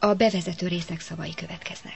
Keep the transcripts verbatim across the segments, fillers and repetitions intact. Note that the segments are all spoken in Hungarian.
A bevezető részek szavai következnek.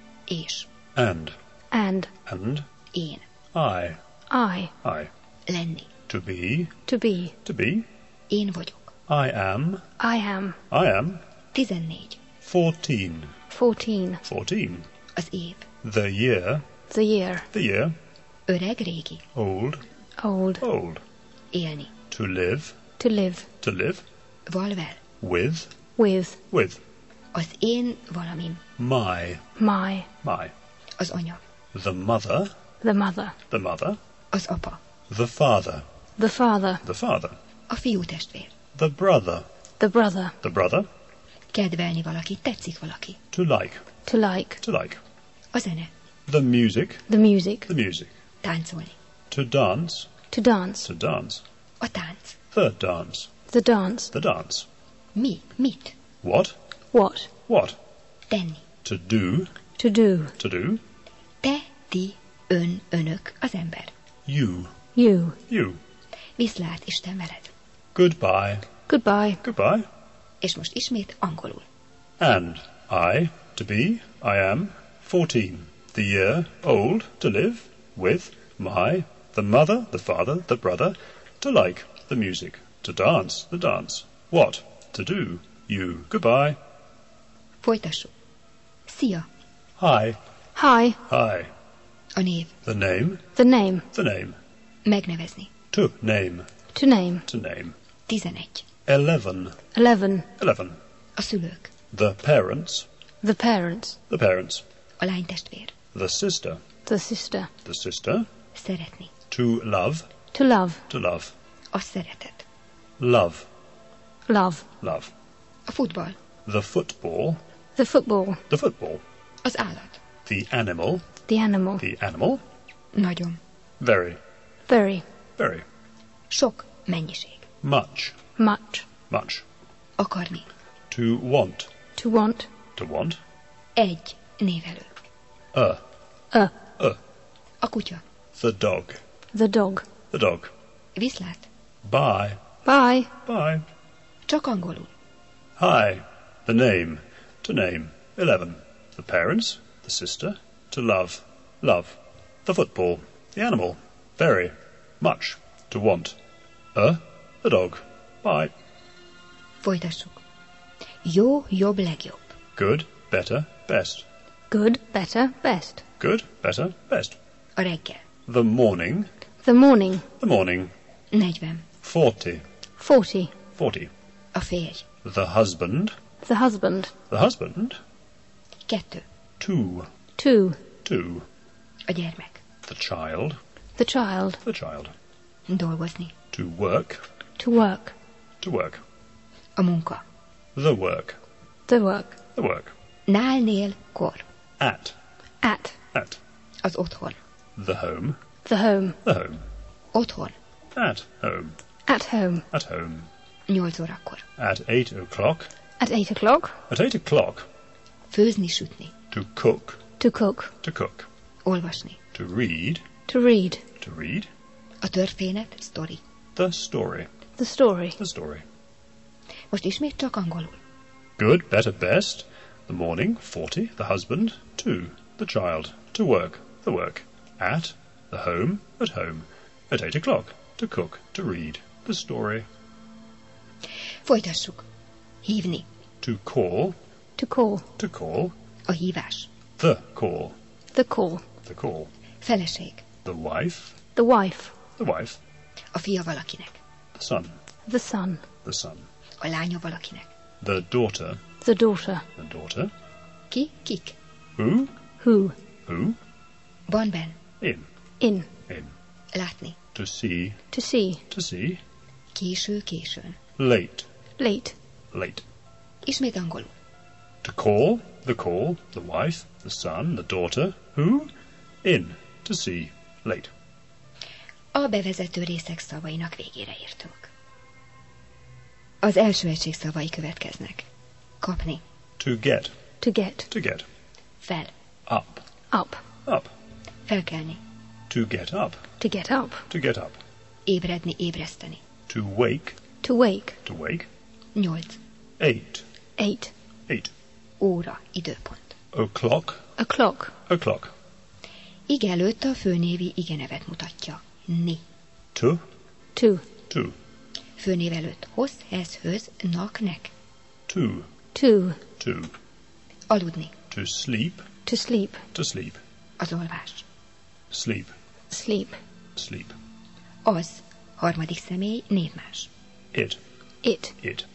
És. And. And. And. Én. I. I. I. Lenni. To be. To be. To be. Én vagyok. I am. I am. I am. Tizennégy. Fourteen. Fourteen. Fourteen. Az év. The year. The year. The year. Öreg, régi. Old. Old. Old. Élni. To live. To live. To live. Valvel. With. With. With. Az én valamim. My. My. My. Az anya. The mother. The mother. The mother. Az apa. The father. The father. The father. A fiú testvér. The brother. The brother. The brother. Kedvelni valaki. Tetszik valaki. To like. To like. To like. A zene. The music. The music. The music. Táncolni. To dance. To dance. To dance. A tánc. The dance. The dance. The dance. Mi? Mit? What? What? What? Tenni. To do. To do. To do. Te, ti, ön, önök, az ember. You. You. You. Viszlát, Isten veled. Goodbye. Goodbye. Goodbye. És most ismét angolul. And I, to be, I am, fourteen. The year, old, to live, with, my, the mother, the father, the brother, to like, the music, to dance, the dance. What? To do. You. Goodbye. Folytassuk. Szia. Hi. Hi. Hi. A név. The name. The name. The name. Megnevezni. To name. To name. To name. Tizenegy. Eleven. Eleven. Eleven. A szülők. The parents. The parents. The parents. A lány testvér. The sister. The sister. The sister. Szeretni. To love. To love. To love. A szeretet. Love. Love. Love. A futball. The football. The football. The football. Az állat. The animal. The animal. The animal. Nagyon. Very. Very. Very. Sok. Mennyiség. Much. Much. Much. Akarni. To want. To want. To want. Egy. Névelő. A. A. A. A kutya. The dog. The dog. The dog. Viszlát. Bye. Bye. Bye. Csak angolul. Hi. The name. To name. Eleven. The parents. The sister. To love. Love. The football. The animal. Very. Much. To want. A. The dog. Bye. Folytassuk. Jó, jobb, legjobb. Good. Better. Best. Good. Better. Best. Good. Better. Best. A reggel. The morning. The morning. The morning. Negyven. Forty. Forty. Forty. A férj. The husband. The husband. The husband. Kettő. Two. Two. Two. A gyermek. The child. The child. The child. Dolgozni. To work. To work. To work. A munka. The work. The work. The work. Nál, nél, kor. At. At. At. Az otthon. The home. The home. The home. Otthon. At home. At home. At home. Nyolc órakor. At eight o'clock. At eight o'clock. At eight o'clock. Főzni, sütni. To cook. To cook. To cook. Olvasni. To read. To read. To read. A történet, sztori. The story. The story. The story. Most ismét csak angolul. Good, better, best. The morning. Forty. The husband. Two. The child. To work. The work. At. The home. At home. At eight o'clock. To cook. To read. The story. Folytassuk. Hívni. To call. To call. To call. A hívás. The call. The call. The call. Feleség. The wife. The wife. The wife. A fia valakinek. The son. The son. The son. A lánya valakinek. The daughter. The daughter. The daughter. Ki? Kik? Who? Who? Who? Van benn. In. In. In. Látni. To see. To see. To see. Késő, későn. Late. Late. Late. Ismét angolul. To call. The call. The wife. The son. The daughter. Who? In. To see. Late. A bevezető részek szavainak végére értünk. Az első egység szavai következnek. Kapni. To get. To get. To get. Fel. Up. Up. Up. Felkelni. To get up. To get up. To get up. Ébredni, ébreszteni. To wake. To wake. To wake. Nyolc. Eight. Eight. Eight. óra, időpont. O'clock, O'clock. o'clock. Ige előtt a főnévi igenevet mutatja. Ni. To, To. to, Főnév előtt hoz, hez, höz, nak, nek. to, To. to. Aludni. To sleep, To sleep. to sleep. Az olvás. Sleep, Sleep. sleep. Az. Harmadik személy, névmás. It, It. it.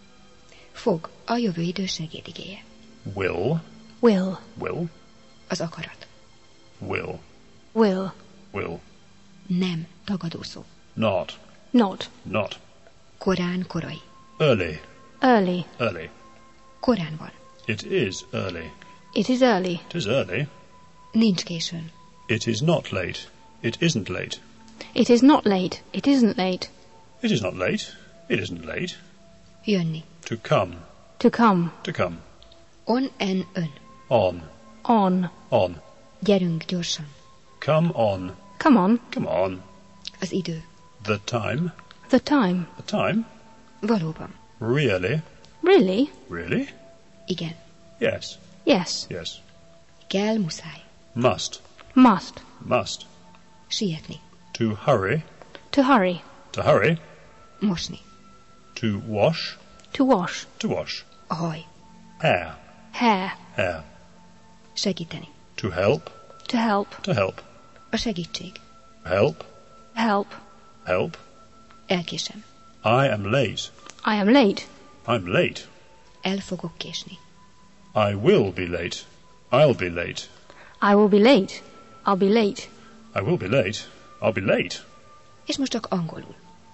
Fog. A jövő idő segédigéje. Will, Will. will, Az akarat. will, Will. will. Nem. Tagadó szó. Not, Not. not. Korán, korai. Early, Early. early. Korán van. It is early. It is early. It is early. Nincs későn. It is not late. It isn't late. It is not late. It isn't late. It is not late. It isn't late. Jönni. To come, To come. to come. On, en, ön. On, On. on. Gyerünk gyorsan. Come on, Come on. come on. Az idő. The time, The time. the time. Valóban. Really, Really? really? Igen. Yes, Yes. yes. Kell, muszáj. Must, Must. must. Sietni. To hurry, To hurry. to hurry. Mosni. To wash, To wash. to wash. A haj. Hair, Hair. hair. Segíteni. To help, To help. to help. A segítség. Help, Help. help. Elkésem. I am late. I am late. I'm late. El fogok késni. I will be late. I'll be late. I will be late. I'll be late. I will be late. I'll be late. És most csak angolul.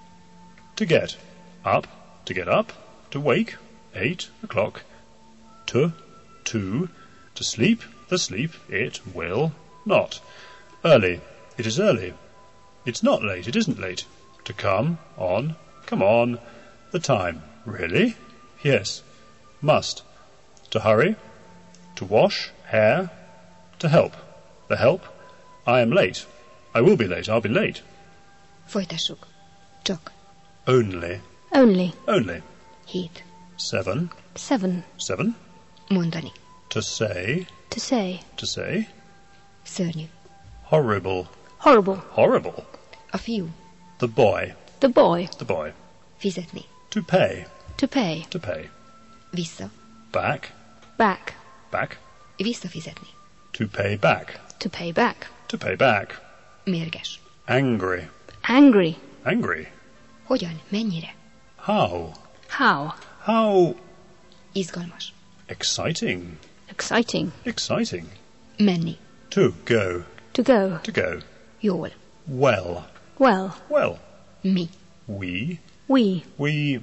To get up, to get up, to wake, eight o'clock. To, to, to sleep, the sleep, it will not. Early, it is early. It's not late, it isn't late. To come, on, come on. The time, really? Yes. Must. To hurry, to wash, hair, to help. The help, I am late. I will be late, I'll be late. Folytassuk. Csak. Only, Only. only. Hét. Seven, Seven. seven. Mondani. To say, To say. to say. Szörnyű. Horrible, Horrible. horrible. A fiú. The boy, The boy. the boy. Fizetni. To pay, To pay. to pay. Vissza. Back, Back. back. Visszafizetni. To pay back, To pay back. to pay back. Mérges. Angry, Angry. angry. Hogyan? Mennyire? How, How? how Izgalmas. exciting, Exciting. exciting. Menni. To go, To go. to go. Jól. Well, Well. well. Mi. We, We. we,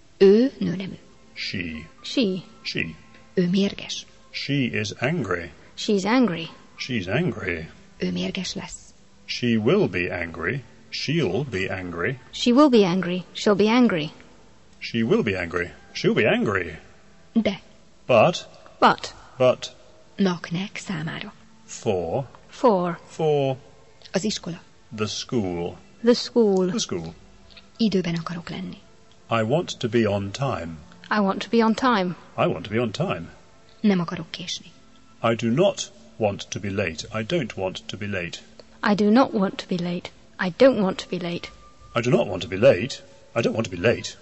Ő nőnemű. she, She. she. Ő mérges. She is angry. She's angry. She's angry. Ő mérges lesz. She will be angry. She'll be angry. She will be angry. She'll be angry. She will be angry. She'll be angry. De. But, But. but, Nak, nek, számára. for, For. for Az iskola. the school. The school. The school. Időben akarok lenni. I want to be on time. I want to be on time. I want to be on time. Nem akarok késni. I do not want to be late. I don't want to be late. I do not want to be late. I don't want to be late. I do not want to be late. I don't want to be late.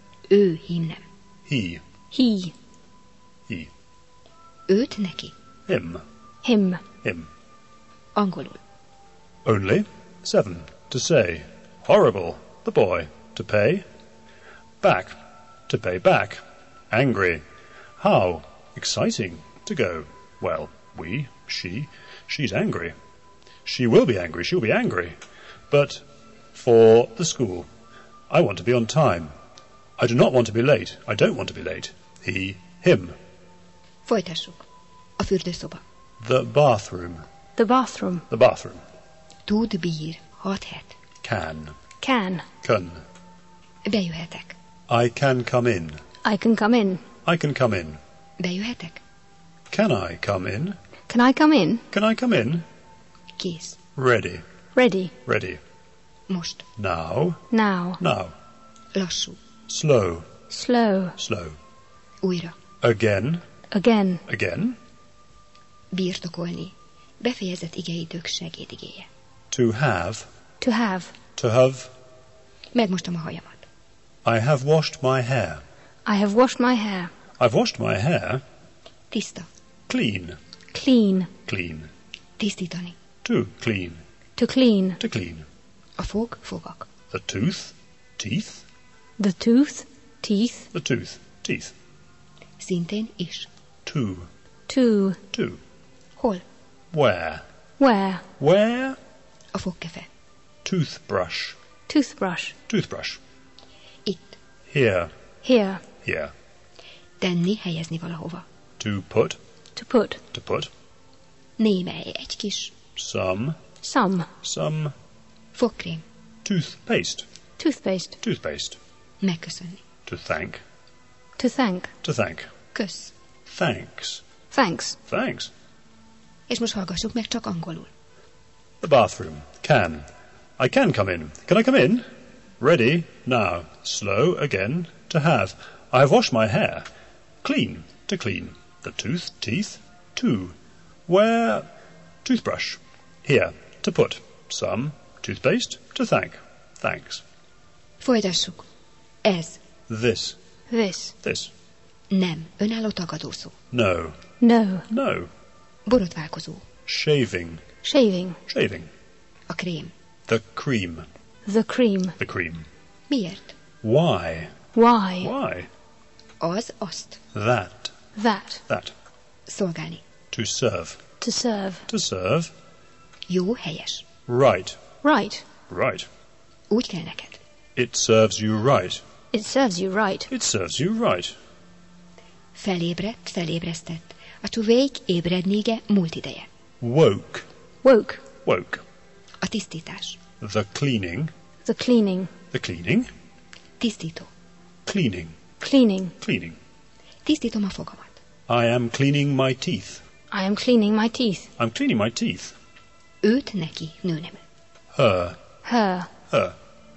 Ő himnem. He, He. he, Őt neki. him, Him. him. Angolul. Only, seven. To say, horrible, the boy. To pay, back, to pay back. Angry, how, exciting, to go. Well, we, she, she's angry. She will be angry, she'll be angry. But for the school, I want to be on time. I do not want to be late. I don't want to be late. He, him. Folytassuk. A fürdőszoba. The bathroom, The bathroom. the bathroom. Tud, bír, hathet. Can, Can. can. Bejöhetek. I can come in. I can come in. I can come in. Bejöhetek. Can I come in? Can I come in? Can I come in? Kész. Ready, Ready. ready. Most. Now, Now. now. Lassú. Slow, Slow. slow. Újra. Again, Again. Again. Birtokolni. Befejezett igeidők segédigéje. To have. To have. To have. Megmostam a hajamat. I have washed my hair. I have washed my hair. I've washed my hair. Tiszta. Clean. Clean. Tisztítani. Clean. To clean. To clean. To clean. A fog, fogak. The tooth. Teeth. The tooth. Teeth. The tooth. Teeth. Szintén is. To. To. To. Hol? Where. Where. Where. A fogkefe. Toothbrush. Toothbrush. Toothbrush. Itt. Here. Here. Here. Tenni, helyezni valahova. To put. To put. To put. Némely, egy kis. Some. Some. Some. Fogkrém. Toothpaste. Toothpaste. Toothpaste. Megköszönni. To thank. To thank. To thank. Kösz. Thanks. Thanks. Thanks. És most hallgassuk meg csak angolul. The bathroom. Can. I can come in. Can I come in? Ready. Now. Slow again. To have. I have washed my hair. Clean. To clean. The tooth. Teeth. To. Where. Toothbrush. Here. To put. Some. Toothpaste. To thank. Thanks. Folytassuk. Ez. This. This. This. Nem. Önálló tagadószó. No. No. No. Borotválkozó. Shaving. Shaving. Shaving. A krém. The cream. The cream. The cream. Miért? Why? Why? Why? Az, azt. That. That. That. Szolgálni. To serve. To serve. To serve. Jó, helyes. Right. Right. Right. Úgy kell neked. It serves you right. It serves you right. It serves you right. Felébredt, felébresztett. A to wake, ébrednége, múlt ideje. Woke. Woke. Woke. A tisztítás. The cleaning. The cleaning. The cleaning. Tisztító. Cleaning. Cleaning. Cleaning. Tisztítom a fogamat. I am cleaning my teeth. I am cleaning my teeth. I'm cleaning my teeth. Őt, neki, nőnemű. Her. Her. Her.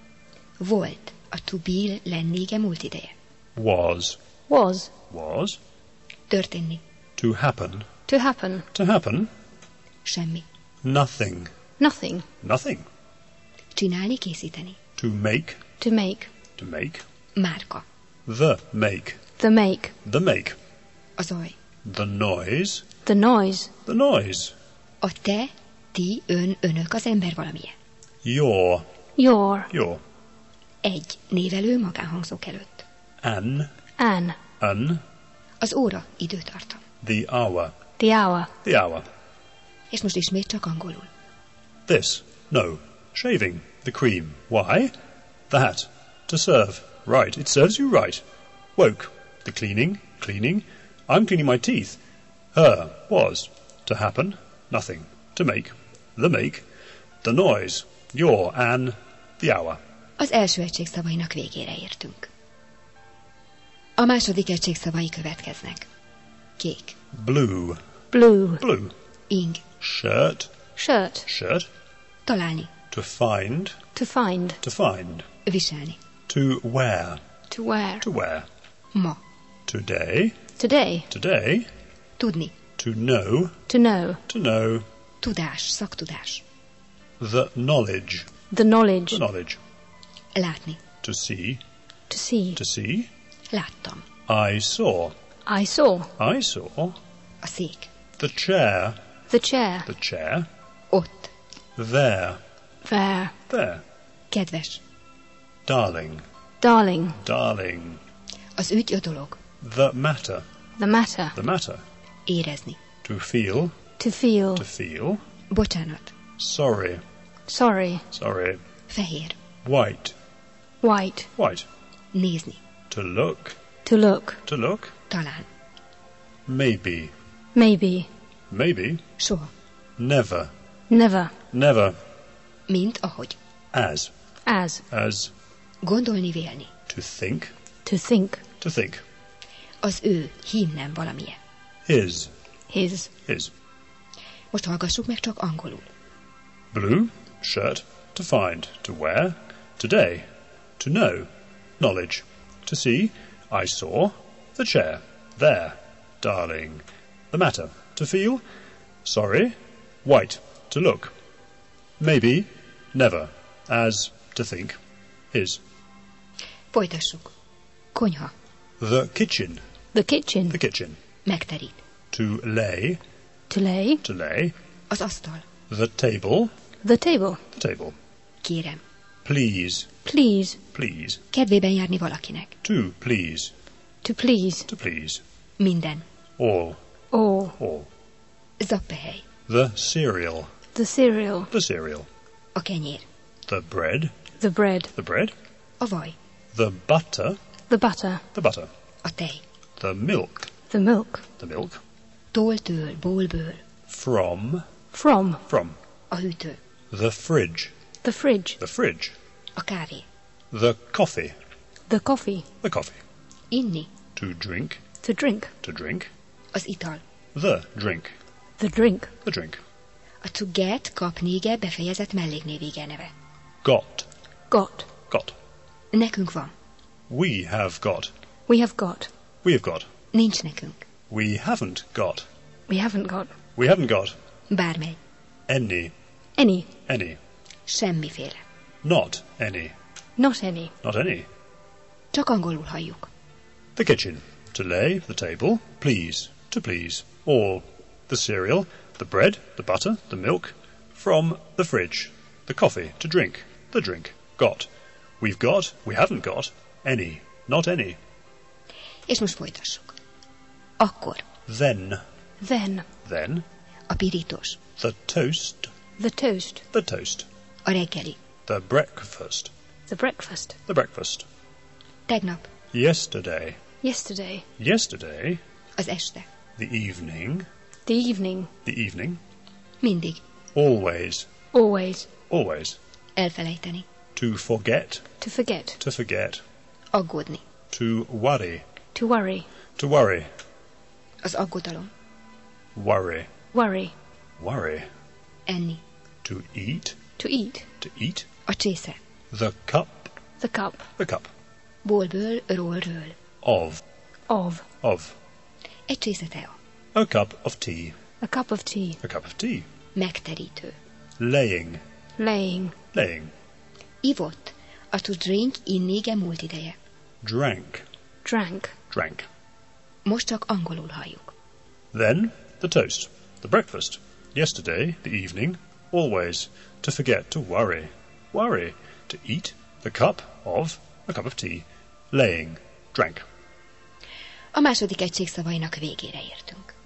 Volt. A to be, lennége, múlt ideje. Was. Was. Was. Történni. To happen. To happen. To happen. Semmi. Nothing. Nothing. Nothing. Csinálni, készíteni. To make. To make. To make. Márka. The make. The make. The make. A zaj. The noise. The noise. The noise. A te, ti, ön, önök, az ember valamilyen. Your. Your. Your. Egy. Névelő magánhangzók előtt. An. An. An. Az óra, időtartam. The hour. The hour. The hour. És most ismét csak angolul. This. No. Shaving. The cream. Why? That. To serve. Right. It serves you right. Woke. The cleaning. Cleaning. I'm cleaning my teeth. Her. Was. To happen. Nothing. To make. The make. The noise. Your. An. The hour. Az első egység szavainak végére értünk. A második egység szavai következnek. Kék. Blue. Blue. Blue. Ing. Shirt. Shirt. Shirt. Találni. To find. To find. To find. Viselni. To wear. To wear. To wear. Ma. Today. Today. Today. Tudni. To know. To know. To know. Tudás, szaktudás. The knowledge. The knowledge. The knowledge. Látni. To see. To see. To see. Láttam. I saw. I saw. I saw. A szék. The chair. The chair. The chair. Ott. There. There. There. Kedves. Darling. Darling. Darling. Az ügy, a dolog. The matter. The matter. The matter. Érezni. To feel. To feel. To feel. Bocsánat. Sorry. Sorry. Sorry. Fehér. White. White. White. Nézni. To look. To look. To look. Talán. Maybe. Maybe. Maybe. Soha. Never. Never. Never. Mint ahogy. As. As. As. Gondolni, vélni. To think. To think. To think. Az ő, hím nem valamilyen. His. His. His. Most hallgassuk meg csak angolul. Blue. Shirt. To find. To wear. Today. To know. Knowledge. To see. I saw. The chair. There. darling. The matter, to feel. Sorry. White, to look. Maybe, never, as to think. His. Folytassuk. Konyha. The kitchen. The kitchen. The kitchen. Megterít. To lay. To lay. To lay. Az asztal. The table. The table. The table. Kérem. Please. Please. Please. Kedvében járni valakinek. To please. To please. To please. Minden. All. All. All. Zappehely. The cereal. The cereal. The cereal. A kenyér. The bread. The bread. The bread. A vaj. The butter. The butter. The butter. A tej. The milk. The milk. The milk. Tóltől, bólből. From. From. From. A hűtő. The fridge. The fridge. The fridge. A kávé. The coffee. The coffee. The coffee. Inni. To drink. To drink. To drink. Az ital. The drink. The drink. The drink. A to get, kapnége befejezett melléknévége neve. Got. Got. Got. Nekünk van. We have got. We have got. We have got. Nincs nekünk. We haven't got. We haven't got. We haven't got. Bármely. Any. Any. Any. Semmiféle. Not any. Not any. Not any. Csak angolul halljuk. The kitchen. To lay. The table. Please. To please. All. The cereal. The bread. The butter. The milk. From the fridge. The coffee. To drink. The drink. Got. We've got. We haven't got. Any. Not any. És most folytassuk. Akkor. Then. Then. Then. A pirítós. The toast. The toast. The toast. A reggeli. The breakfast. The breakfast. The breakfast. Tegnap. Yesterday. Yesterday. Yesterday. Az este. The evening. The evening. The evening. Mindig. Always. Always. Always. Elfelejteni. To forget. To forget. To forget. Aggódni. To worry. To worry. To worry. Az aggodalom. Worry. Worry. Worry. Enni. To eat. To eat. To eat. A csésze. The cup. The cup. The cup. Bólből, ról, ről. Of. Of. Of. Egy csésze tea. A cup of tea. A cup of tea. A cup of tea. Megterítő. Laying. Laying. Laying. Ivott. A to drink innége múlt ideje. Drank. Drank. Drank. Most csak angolul halljuk. Then the toast. The breakfast. Yesterday, the evening. Always. To forget. To worry. Worry. To eat. The cup of. A cup of tea. Laying. Drank. A második egység szavainak végére értünk.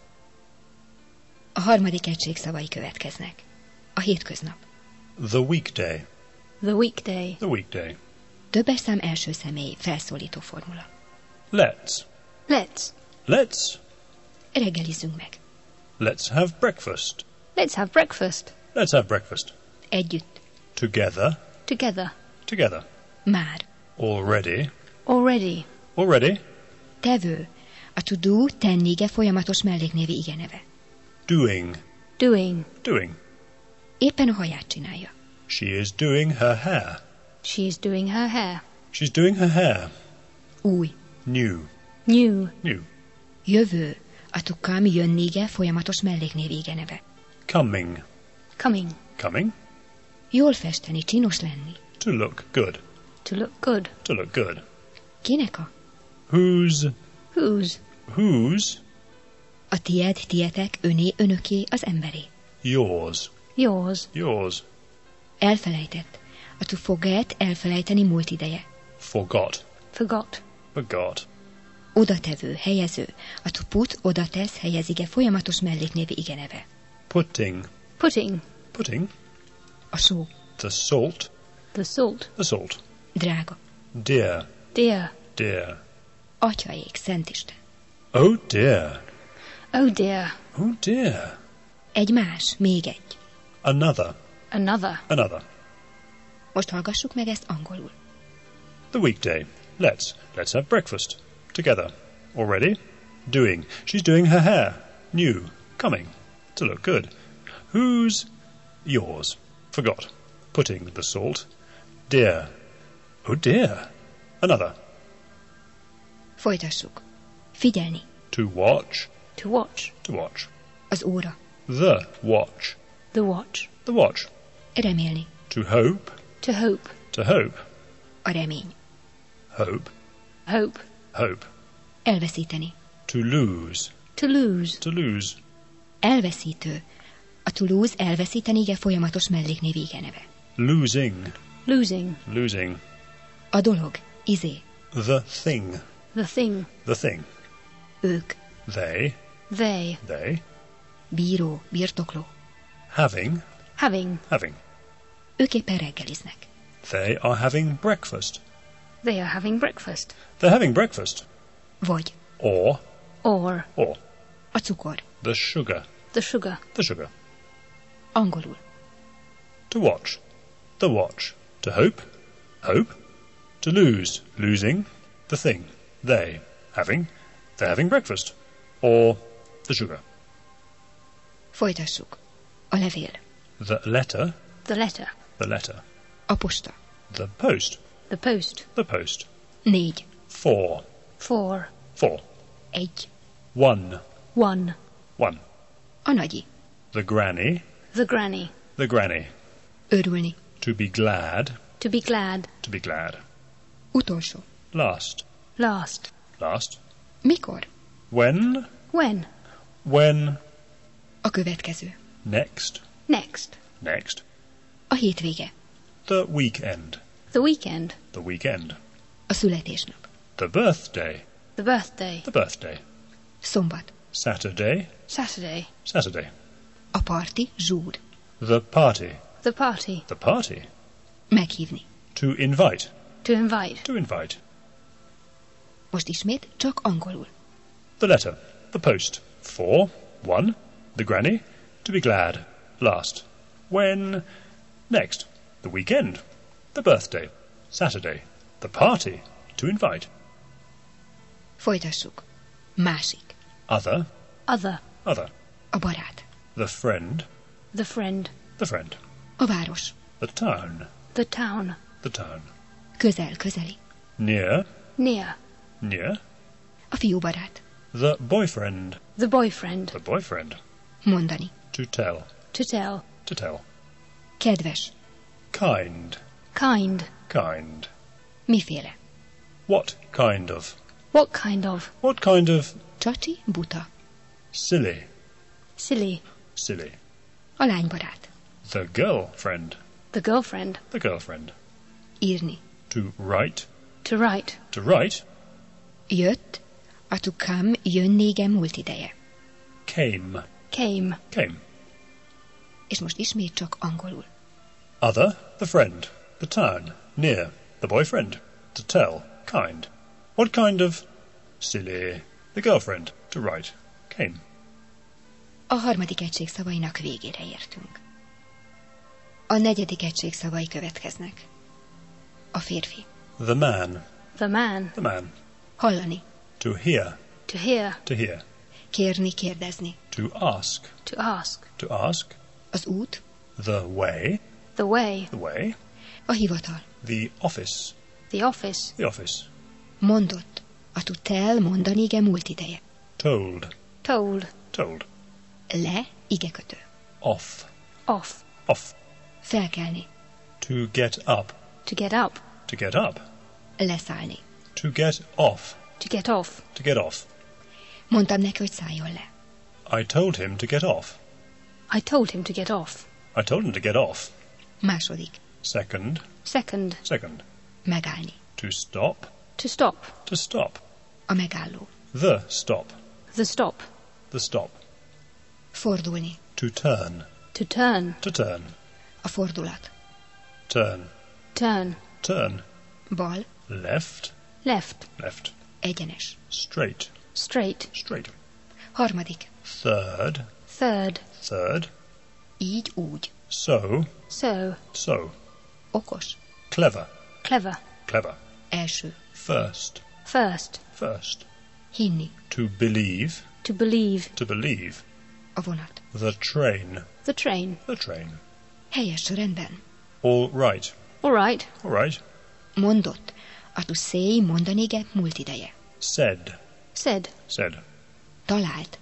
A harmadik egység szavai következnek. A hétköznap. The weekday. The weekday. The weekday. Többes szám első személy felszólító formula. Let's. Let's. Let's. Reggelizzünk meg. Let's have breakfast. Let's have breakfast. Let's have breakfast. Együtt. Together. Together. Together. Már. Already. Already. Already. Tevő. A to do tennége folyamatos melléknévi igeneve. Doing. Doing. Doing. Éppen a haját csinálja. She is doing her hair. She is doing her hair. She's doing her hair. Új. New. New. New. Jövő. A to come jönnége folyamatos melléknévi igeneve. Coming. Coming. Coming. Jól festeni, csinos lenni. To look good. To look good. To look good. Kinek a? Whose. Whose. Whose. A tied, tietek, öné, önöké, az emberé. Yours. Yours. Yours. Elfelejtett. A to forget, elfelejteni múlt ideje. Forgot. Forgot. Forgot. Odatevő, helyező. A to put, odatesz, helyezige folyamatos melléknévi igeneve. Putting. Putting. Putting. A só. The salt. The salt. The salt. Drága. Dear. Dear. Dear. Atyaék, Szentisten. Oh dear. Oh dear. Oh dear. Egy más, még egy. Another. Another. Another. Most hallgassuk meg ezt angolul. The weekday. Let's. Let's have breakfast. Together. Already. Doing. She's doing her hair. New. Coming. To look good. Whose? Yours. Forgot. Putting the salt. Dear. Oh dear. Another. Folytassuk. Figyelni. To watch. To watch. To watch. Az óra. The watch. The watch. The watch. Remélni. To hope. To hope. To hope. A remény. Hope. Hope. Hope. Elveszíteni. To lose. To lose. To lose. Elveszítő. A to lose elveszíteni ige folyamatos melléknév igeneve. Losing. Losing. Losing. A dolog. Izé. The thing. The thing. The thing. Ők. They. They. They. Bíró. Birtokló. Having. Having. Having. Ők éppen reggeliznek. They are having breakfast. They are having breakfast. They're having breakfast. Vagy. Or. Or. Or. A cukor. The sugar. The sugar. The sugar. Angolul. To watch. The watch. To hope. Hope. To lose. Losing. The thing. They. Having. They're having breakfast. Or the sugar. Folytassuk. A levél. The letter. The letter. The letter. A posta. The post. The post. The post. Négy. Four. Four. Four. Egy. One. One. One. A nagyi. The granny. The granny. The granny. Örülni. To be glad. To be glad. To be glad. Utolsó. Last. Last. Last. Mikor? When. When? When. A következő. Next. Next. Next. A hétvége. The weekend. The weekend. The weekend. A születésnap. The birthday. The birthday. The birthday. Szombat. Saturday. Saturday. Saturday. A parti. Zsúr. The party. The party. The party. Meghívni. To invite. To invite. To invite. Most ismét csak angolul. The letter. The post. Four. One. The granny. To be glad. Last. When. Next. The weekend. The birthday. Saturday. The party. To invite. Folytassuk. Másik. Other. Other. Other. A barát. The friend. The friend. The friend. A város. The town. The town. The town. Közel, közeli. Near. Near. Near. A fiúbarát. The boyfriend. The boyfriend. The boyfriend. Mondani. To tell. To tell. To tell. Kedves. Kind. Kind. Kind. Miféle. What kind of? What kind of? What kind of? Csacsi, buta. Silly. Silly. Silly. A lánybarát. The girlfriend. The girlfriend. The girlfriend. Írni. To write. To write. To write. Jött. A to come jönnége múlt ideje. Came. Came. Came. És most ismét csak angolul. Other. The friend. The town. Near. The boyfriend. To tell. Kind. What kind of? Silly. The girlfriend. To write. Came. A harmadik egység szavainak végére értünk. A negyedik egység szavai következnek. A férfi. The man. The man. The man. Hallani. To hear. To hear. To hear. Kérni, kérdezni. To ask. To ask. To ask. Az út. The way. The way. The way. A hivatal. The office. The office. The office. Mondott. A to tell mondani ige múlt ideje. Told. Told. Told. Le igekötő. Off. Off. Off. Felkelni. To get up. To get up. To get up. Leszállni. To get off. To get off. To get off. Mondtam neki, hogy szálljon le. I told him to get off. I told him to get off. I told him to get off. Második. Second. Second. Second. Megállni. To stop. To stop. To stop. A megálló. The stop. The stop. The stop. Fordulni. To turn. To turn. To turn. A fordulat. Turn. Turn. Turn. Bal. Left. Left. Left. Egyenes. Straight. Straight. Straight. Harmadik. Third. Third. Third. Így, úgy. So. So. So. Okos. Clever. Clever. Clever. Első. First. First. First. Hinni. To believe. To believe. To believe. A vonat. The train. The train. The train. Helyes, rendben. All right. All right. All right. Mondott. A to say mondani ige múlt ideje. Said. Said. Said. Talált.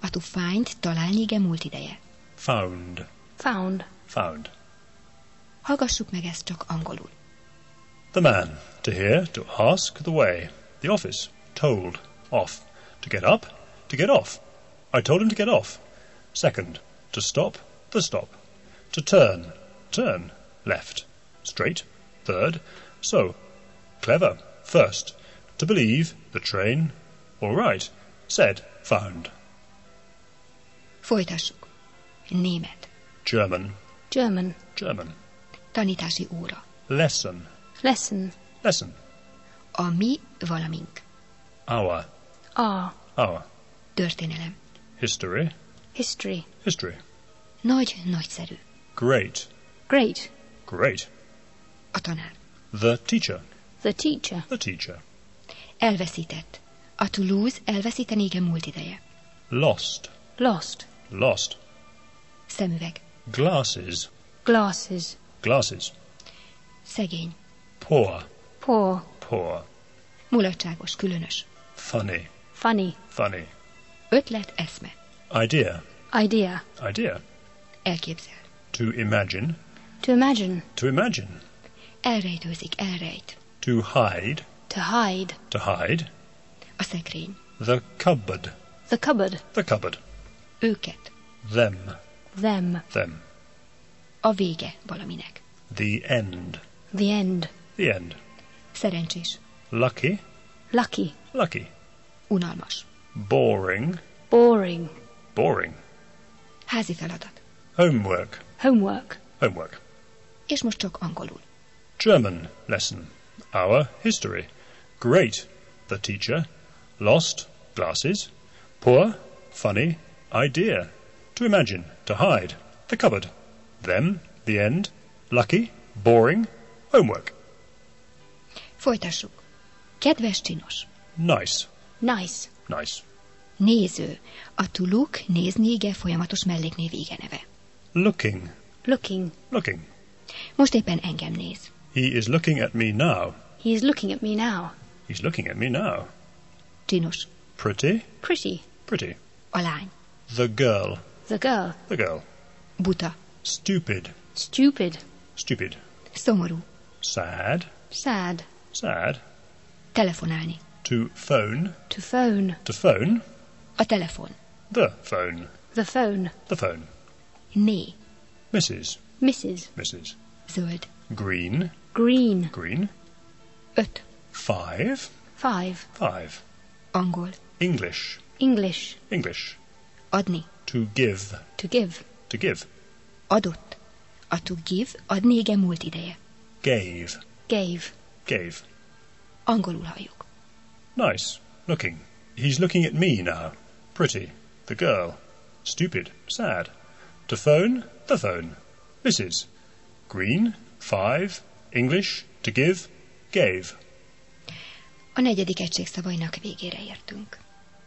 A to find találni ige múlt ideje. Found. Found. Found. Hallgassuk meg ezt csak angolul. The man. To hear, to ask the way. The office. Told. Off. To get up. To get off. I told him to get off. Second. To stop. The stop. To turn. Turn. Left. Straight. Third. So. Clever. First. To believe. The train. All right. Said. Found. Folytassuk. Német. German. German. German. Tanítási óra. Lesson. Lesson. Lesson. A mi valamink. Our. Our. Our. Történelem. History. History. History. Nagy, nagyszerű. Great. Great. Great. A tanár. The teacher. The teacher. The teacher. Elveszített. A to lose elveszíteni ige múlt ideje. Lost. Lost. Lost. Szemüveg. Glasses. Glasses. Glasses. Szegény. Poor. Poor. Poor. Mulatságos, különös. Funny. Funny. Funny. Ötlet, eszme. Idea. Idea. Idea. Elképzel. To imagine. To imagine. To imagine. Elrejtőzik, elrejt. To hide. To hide. To hide. A szekrény. The cupboard. The cupboard. The cupboard. Őket. Them. Them. Them. A vége valaminek. The end. The end. The end. Szerencsés. Lucky. Lucky. Lucky. Unalmas. Boring. Boring. Boring. Házi feladat. Homework. Homework. Homework. És most csak angolul. German lesson. Our history. Great. The teacher. Lost. Glasses. Poor. Funny. Idea. To imagine. To hide. The cupboard. Them. The end. Lucky. Boring. Homework. Folytassuk. Kedves, csinos. Nice. Nice. Nice. Néző. A to look, nézni ige folyamatos melléknév ige neve. Looking. Looking. Looking. Most éppen engem néz. He is looking at me now. He is looking at me now. He's looking at me now. Csinos. Pretty. Pretty. Pretty. A lány. The girl. The girl. The girl. Buta. Stupid. Stupid. Stupid. Szomorú. Sad. Sad. Sad. Telefonálni. To phone. To phone. To phone. A telefon. The phone. The phone. The phone. Né. Missus. Missus. Missus. Zöld. Green. Green. Green. Öt. Five. Five. Five. Angol. English. English. English. Adni. To give. To give. To give. Adott. A to give, adni ige múlt ideje. Gave. Gave. Gave. Angolul halljuk. Nice. Looking. He's looking at me now. Pretty. The girl. Stupid. Sad. To phone. The phone. Missus Green. Five. English. To give. Gave. A negyedik egység szavainak végére értünk.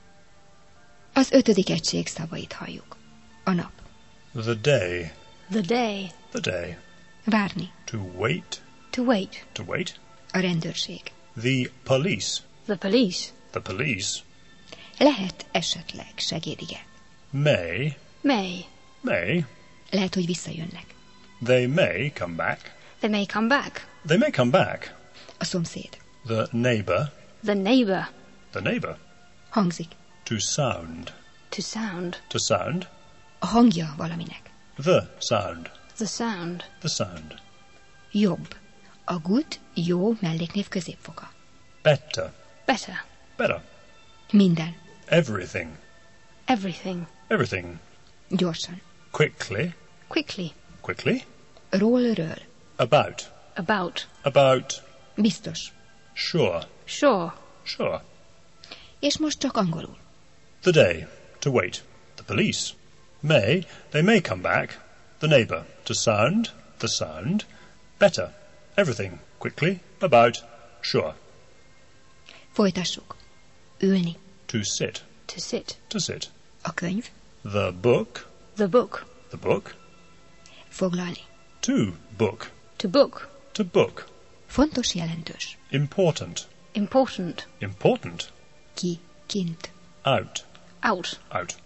Az ötödik egység szavait halljuk. A nap. The day. The day. The day. Várni. To wait. To wait. To wait. A rendőrség. The police. The police. The police. Lehet esetleg segédige. May. May. May. Lehet, hogy visszajönnek. They may come back. They may come back. They may come back. A szomszéd. The neighbor. The neighbor. The neighbor. Hangzik. To sound. To sound. To sound. A hangja valaminek. The sound. The sound. The sound. Jobb. A good, jó melléknév középfoka. Better. Better. Better. Minden. Everything. Everything. Everything. Gyorsan. Quickly. Quickly. Quickly. Ról-ről. About. About. About. Biztos. Sure. Sure. Sure. És most csak angolul. The day. To wait. The police. May. They may come back. The neighbor. To sound. The sound. Better. Everything. Quickly. About. Sure. Folytassuk. Ülni. To sit. To sit. To sit. A könyv. The book. The book. The book. Foglalni. To book. To book. To book. Fontos, jelentős. Important. Important. Important. Ki, kint. Out. Out. Out.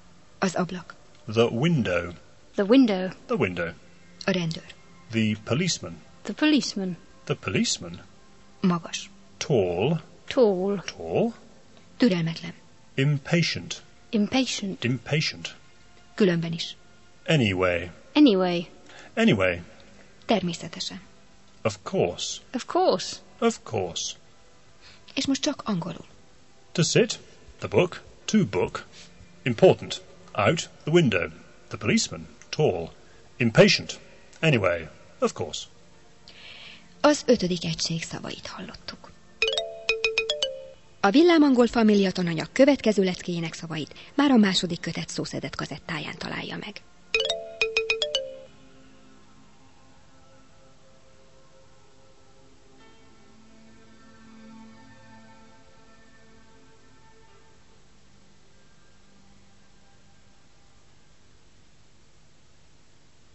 Az ablak. The window. The window. The window. A rendőr. The policeman. The policeman. The policeman. Magas. Tall. Tall. Tall. Türelmetlen. Impatient. Impatient. Impatient. Különben is. Anyway. Anyway. Anyway. Természetesen. Of course. Of course. Of course. És most csak angolul. To sit. The book. To book. Important. Out the window. The policeman. Tall. Impatient. Anyway. Of course. Az ötödik egység szavait hallottuk. A Villámangol Família tananyag következő leckéjének szavait már a második kötet szószedett kazettáján találja meg.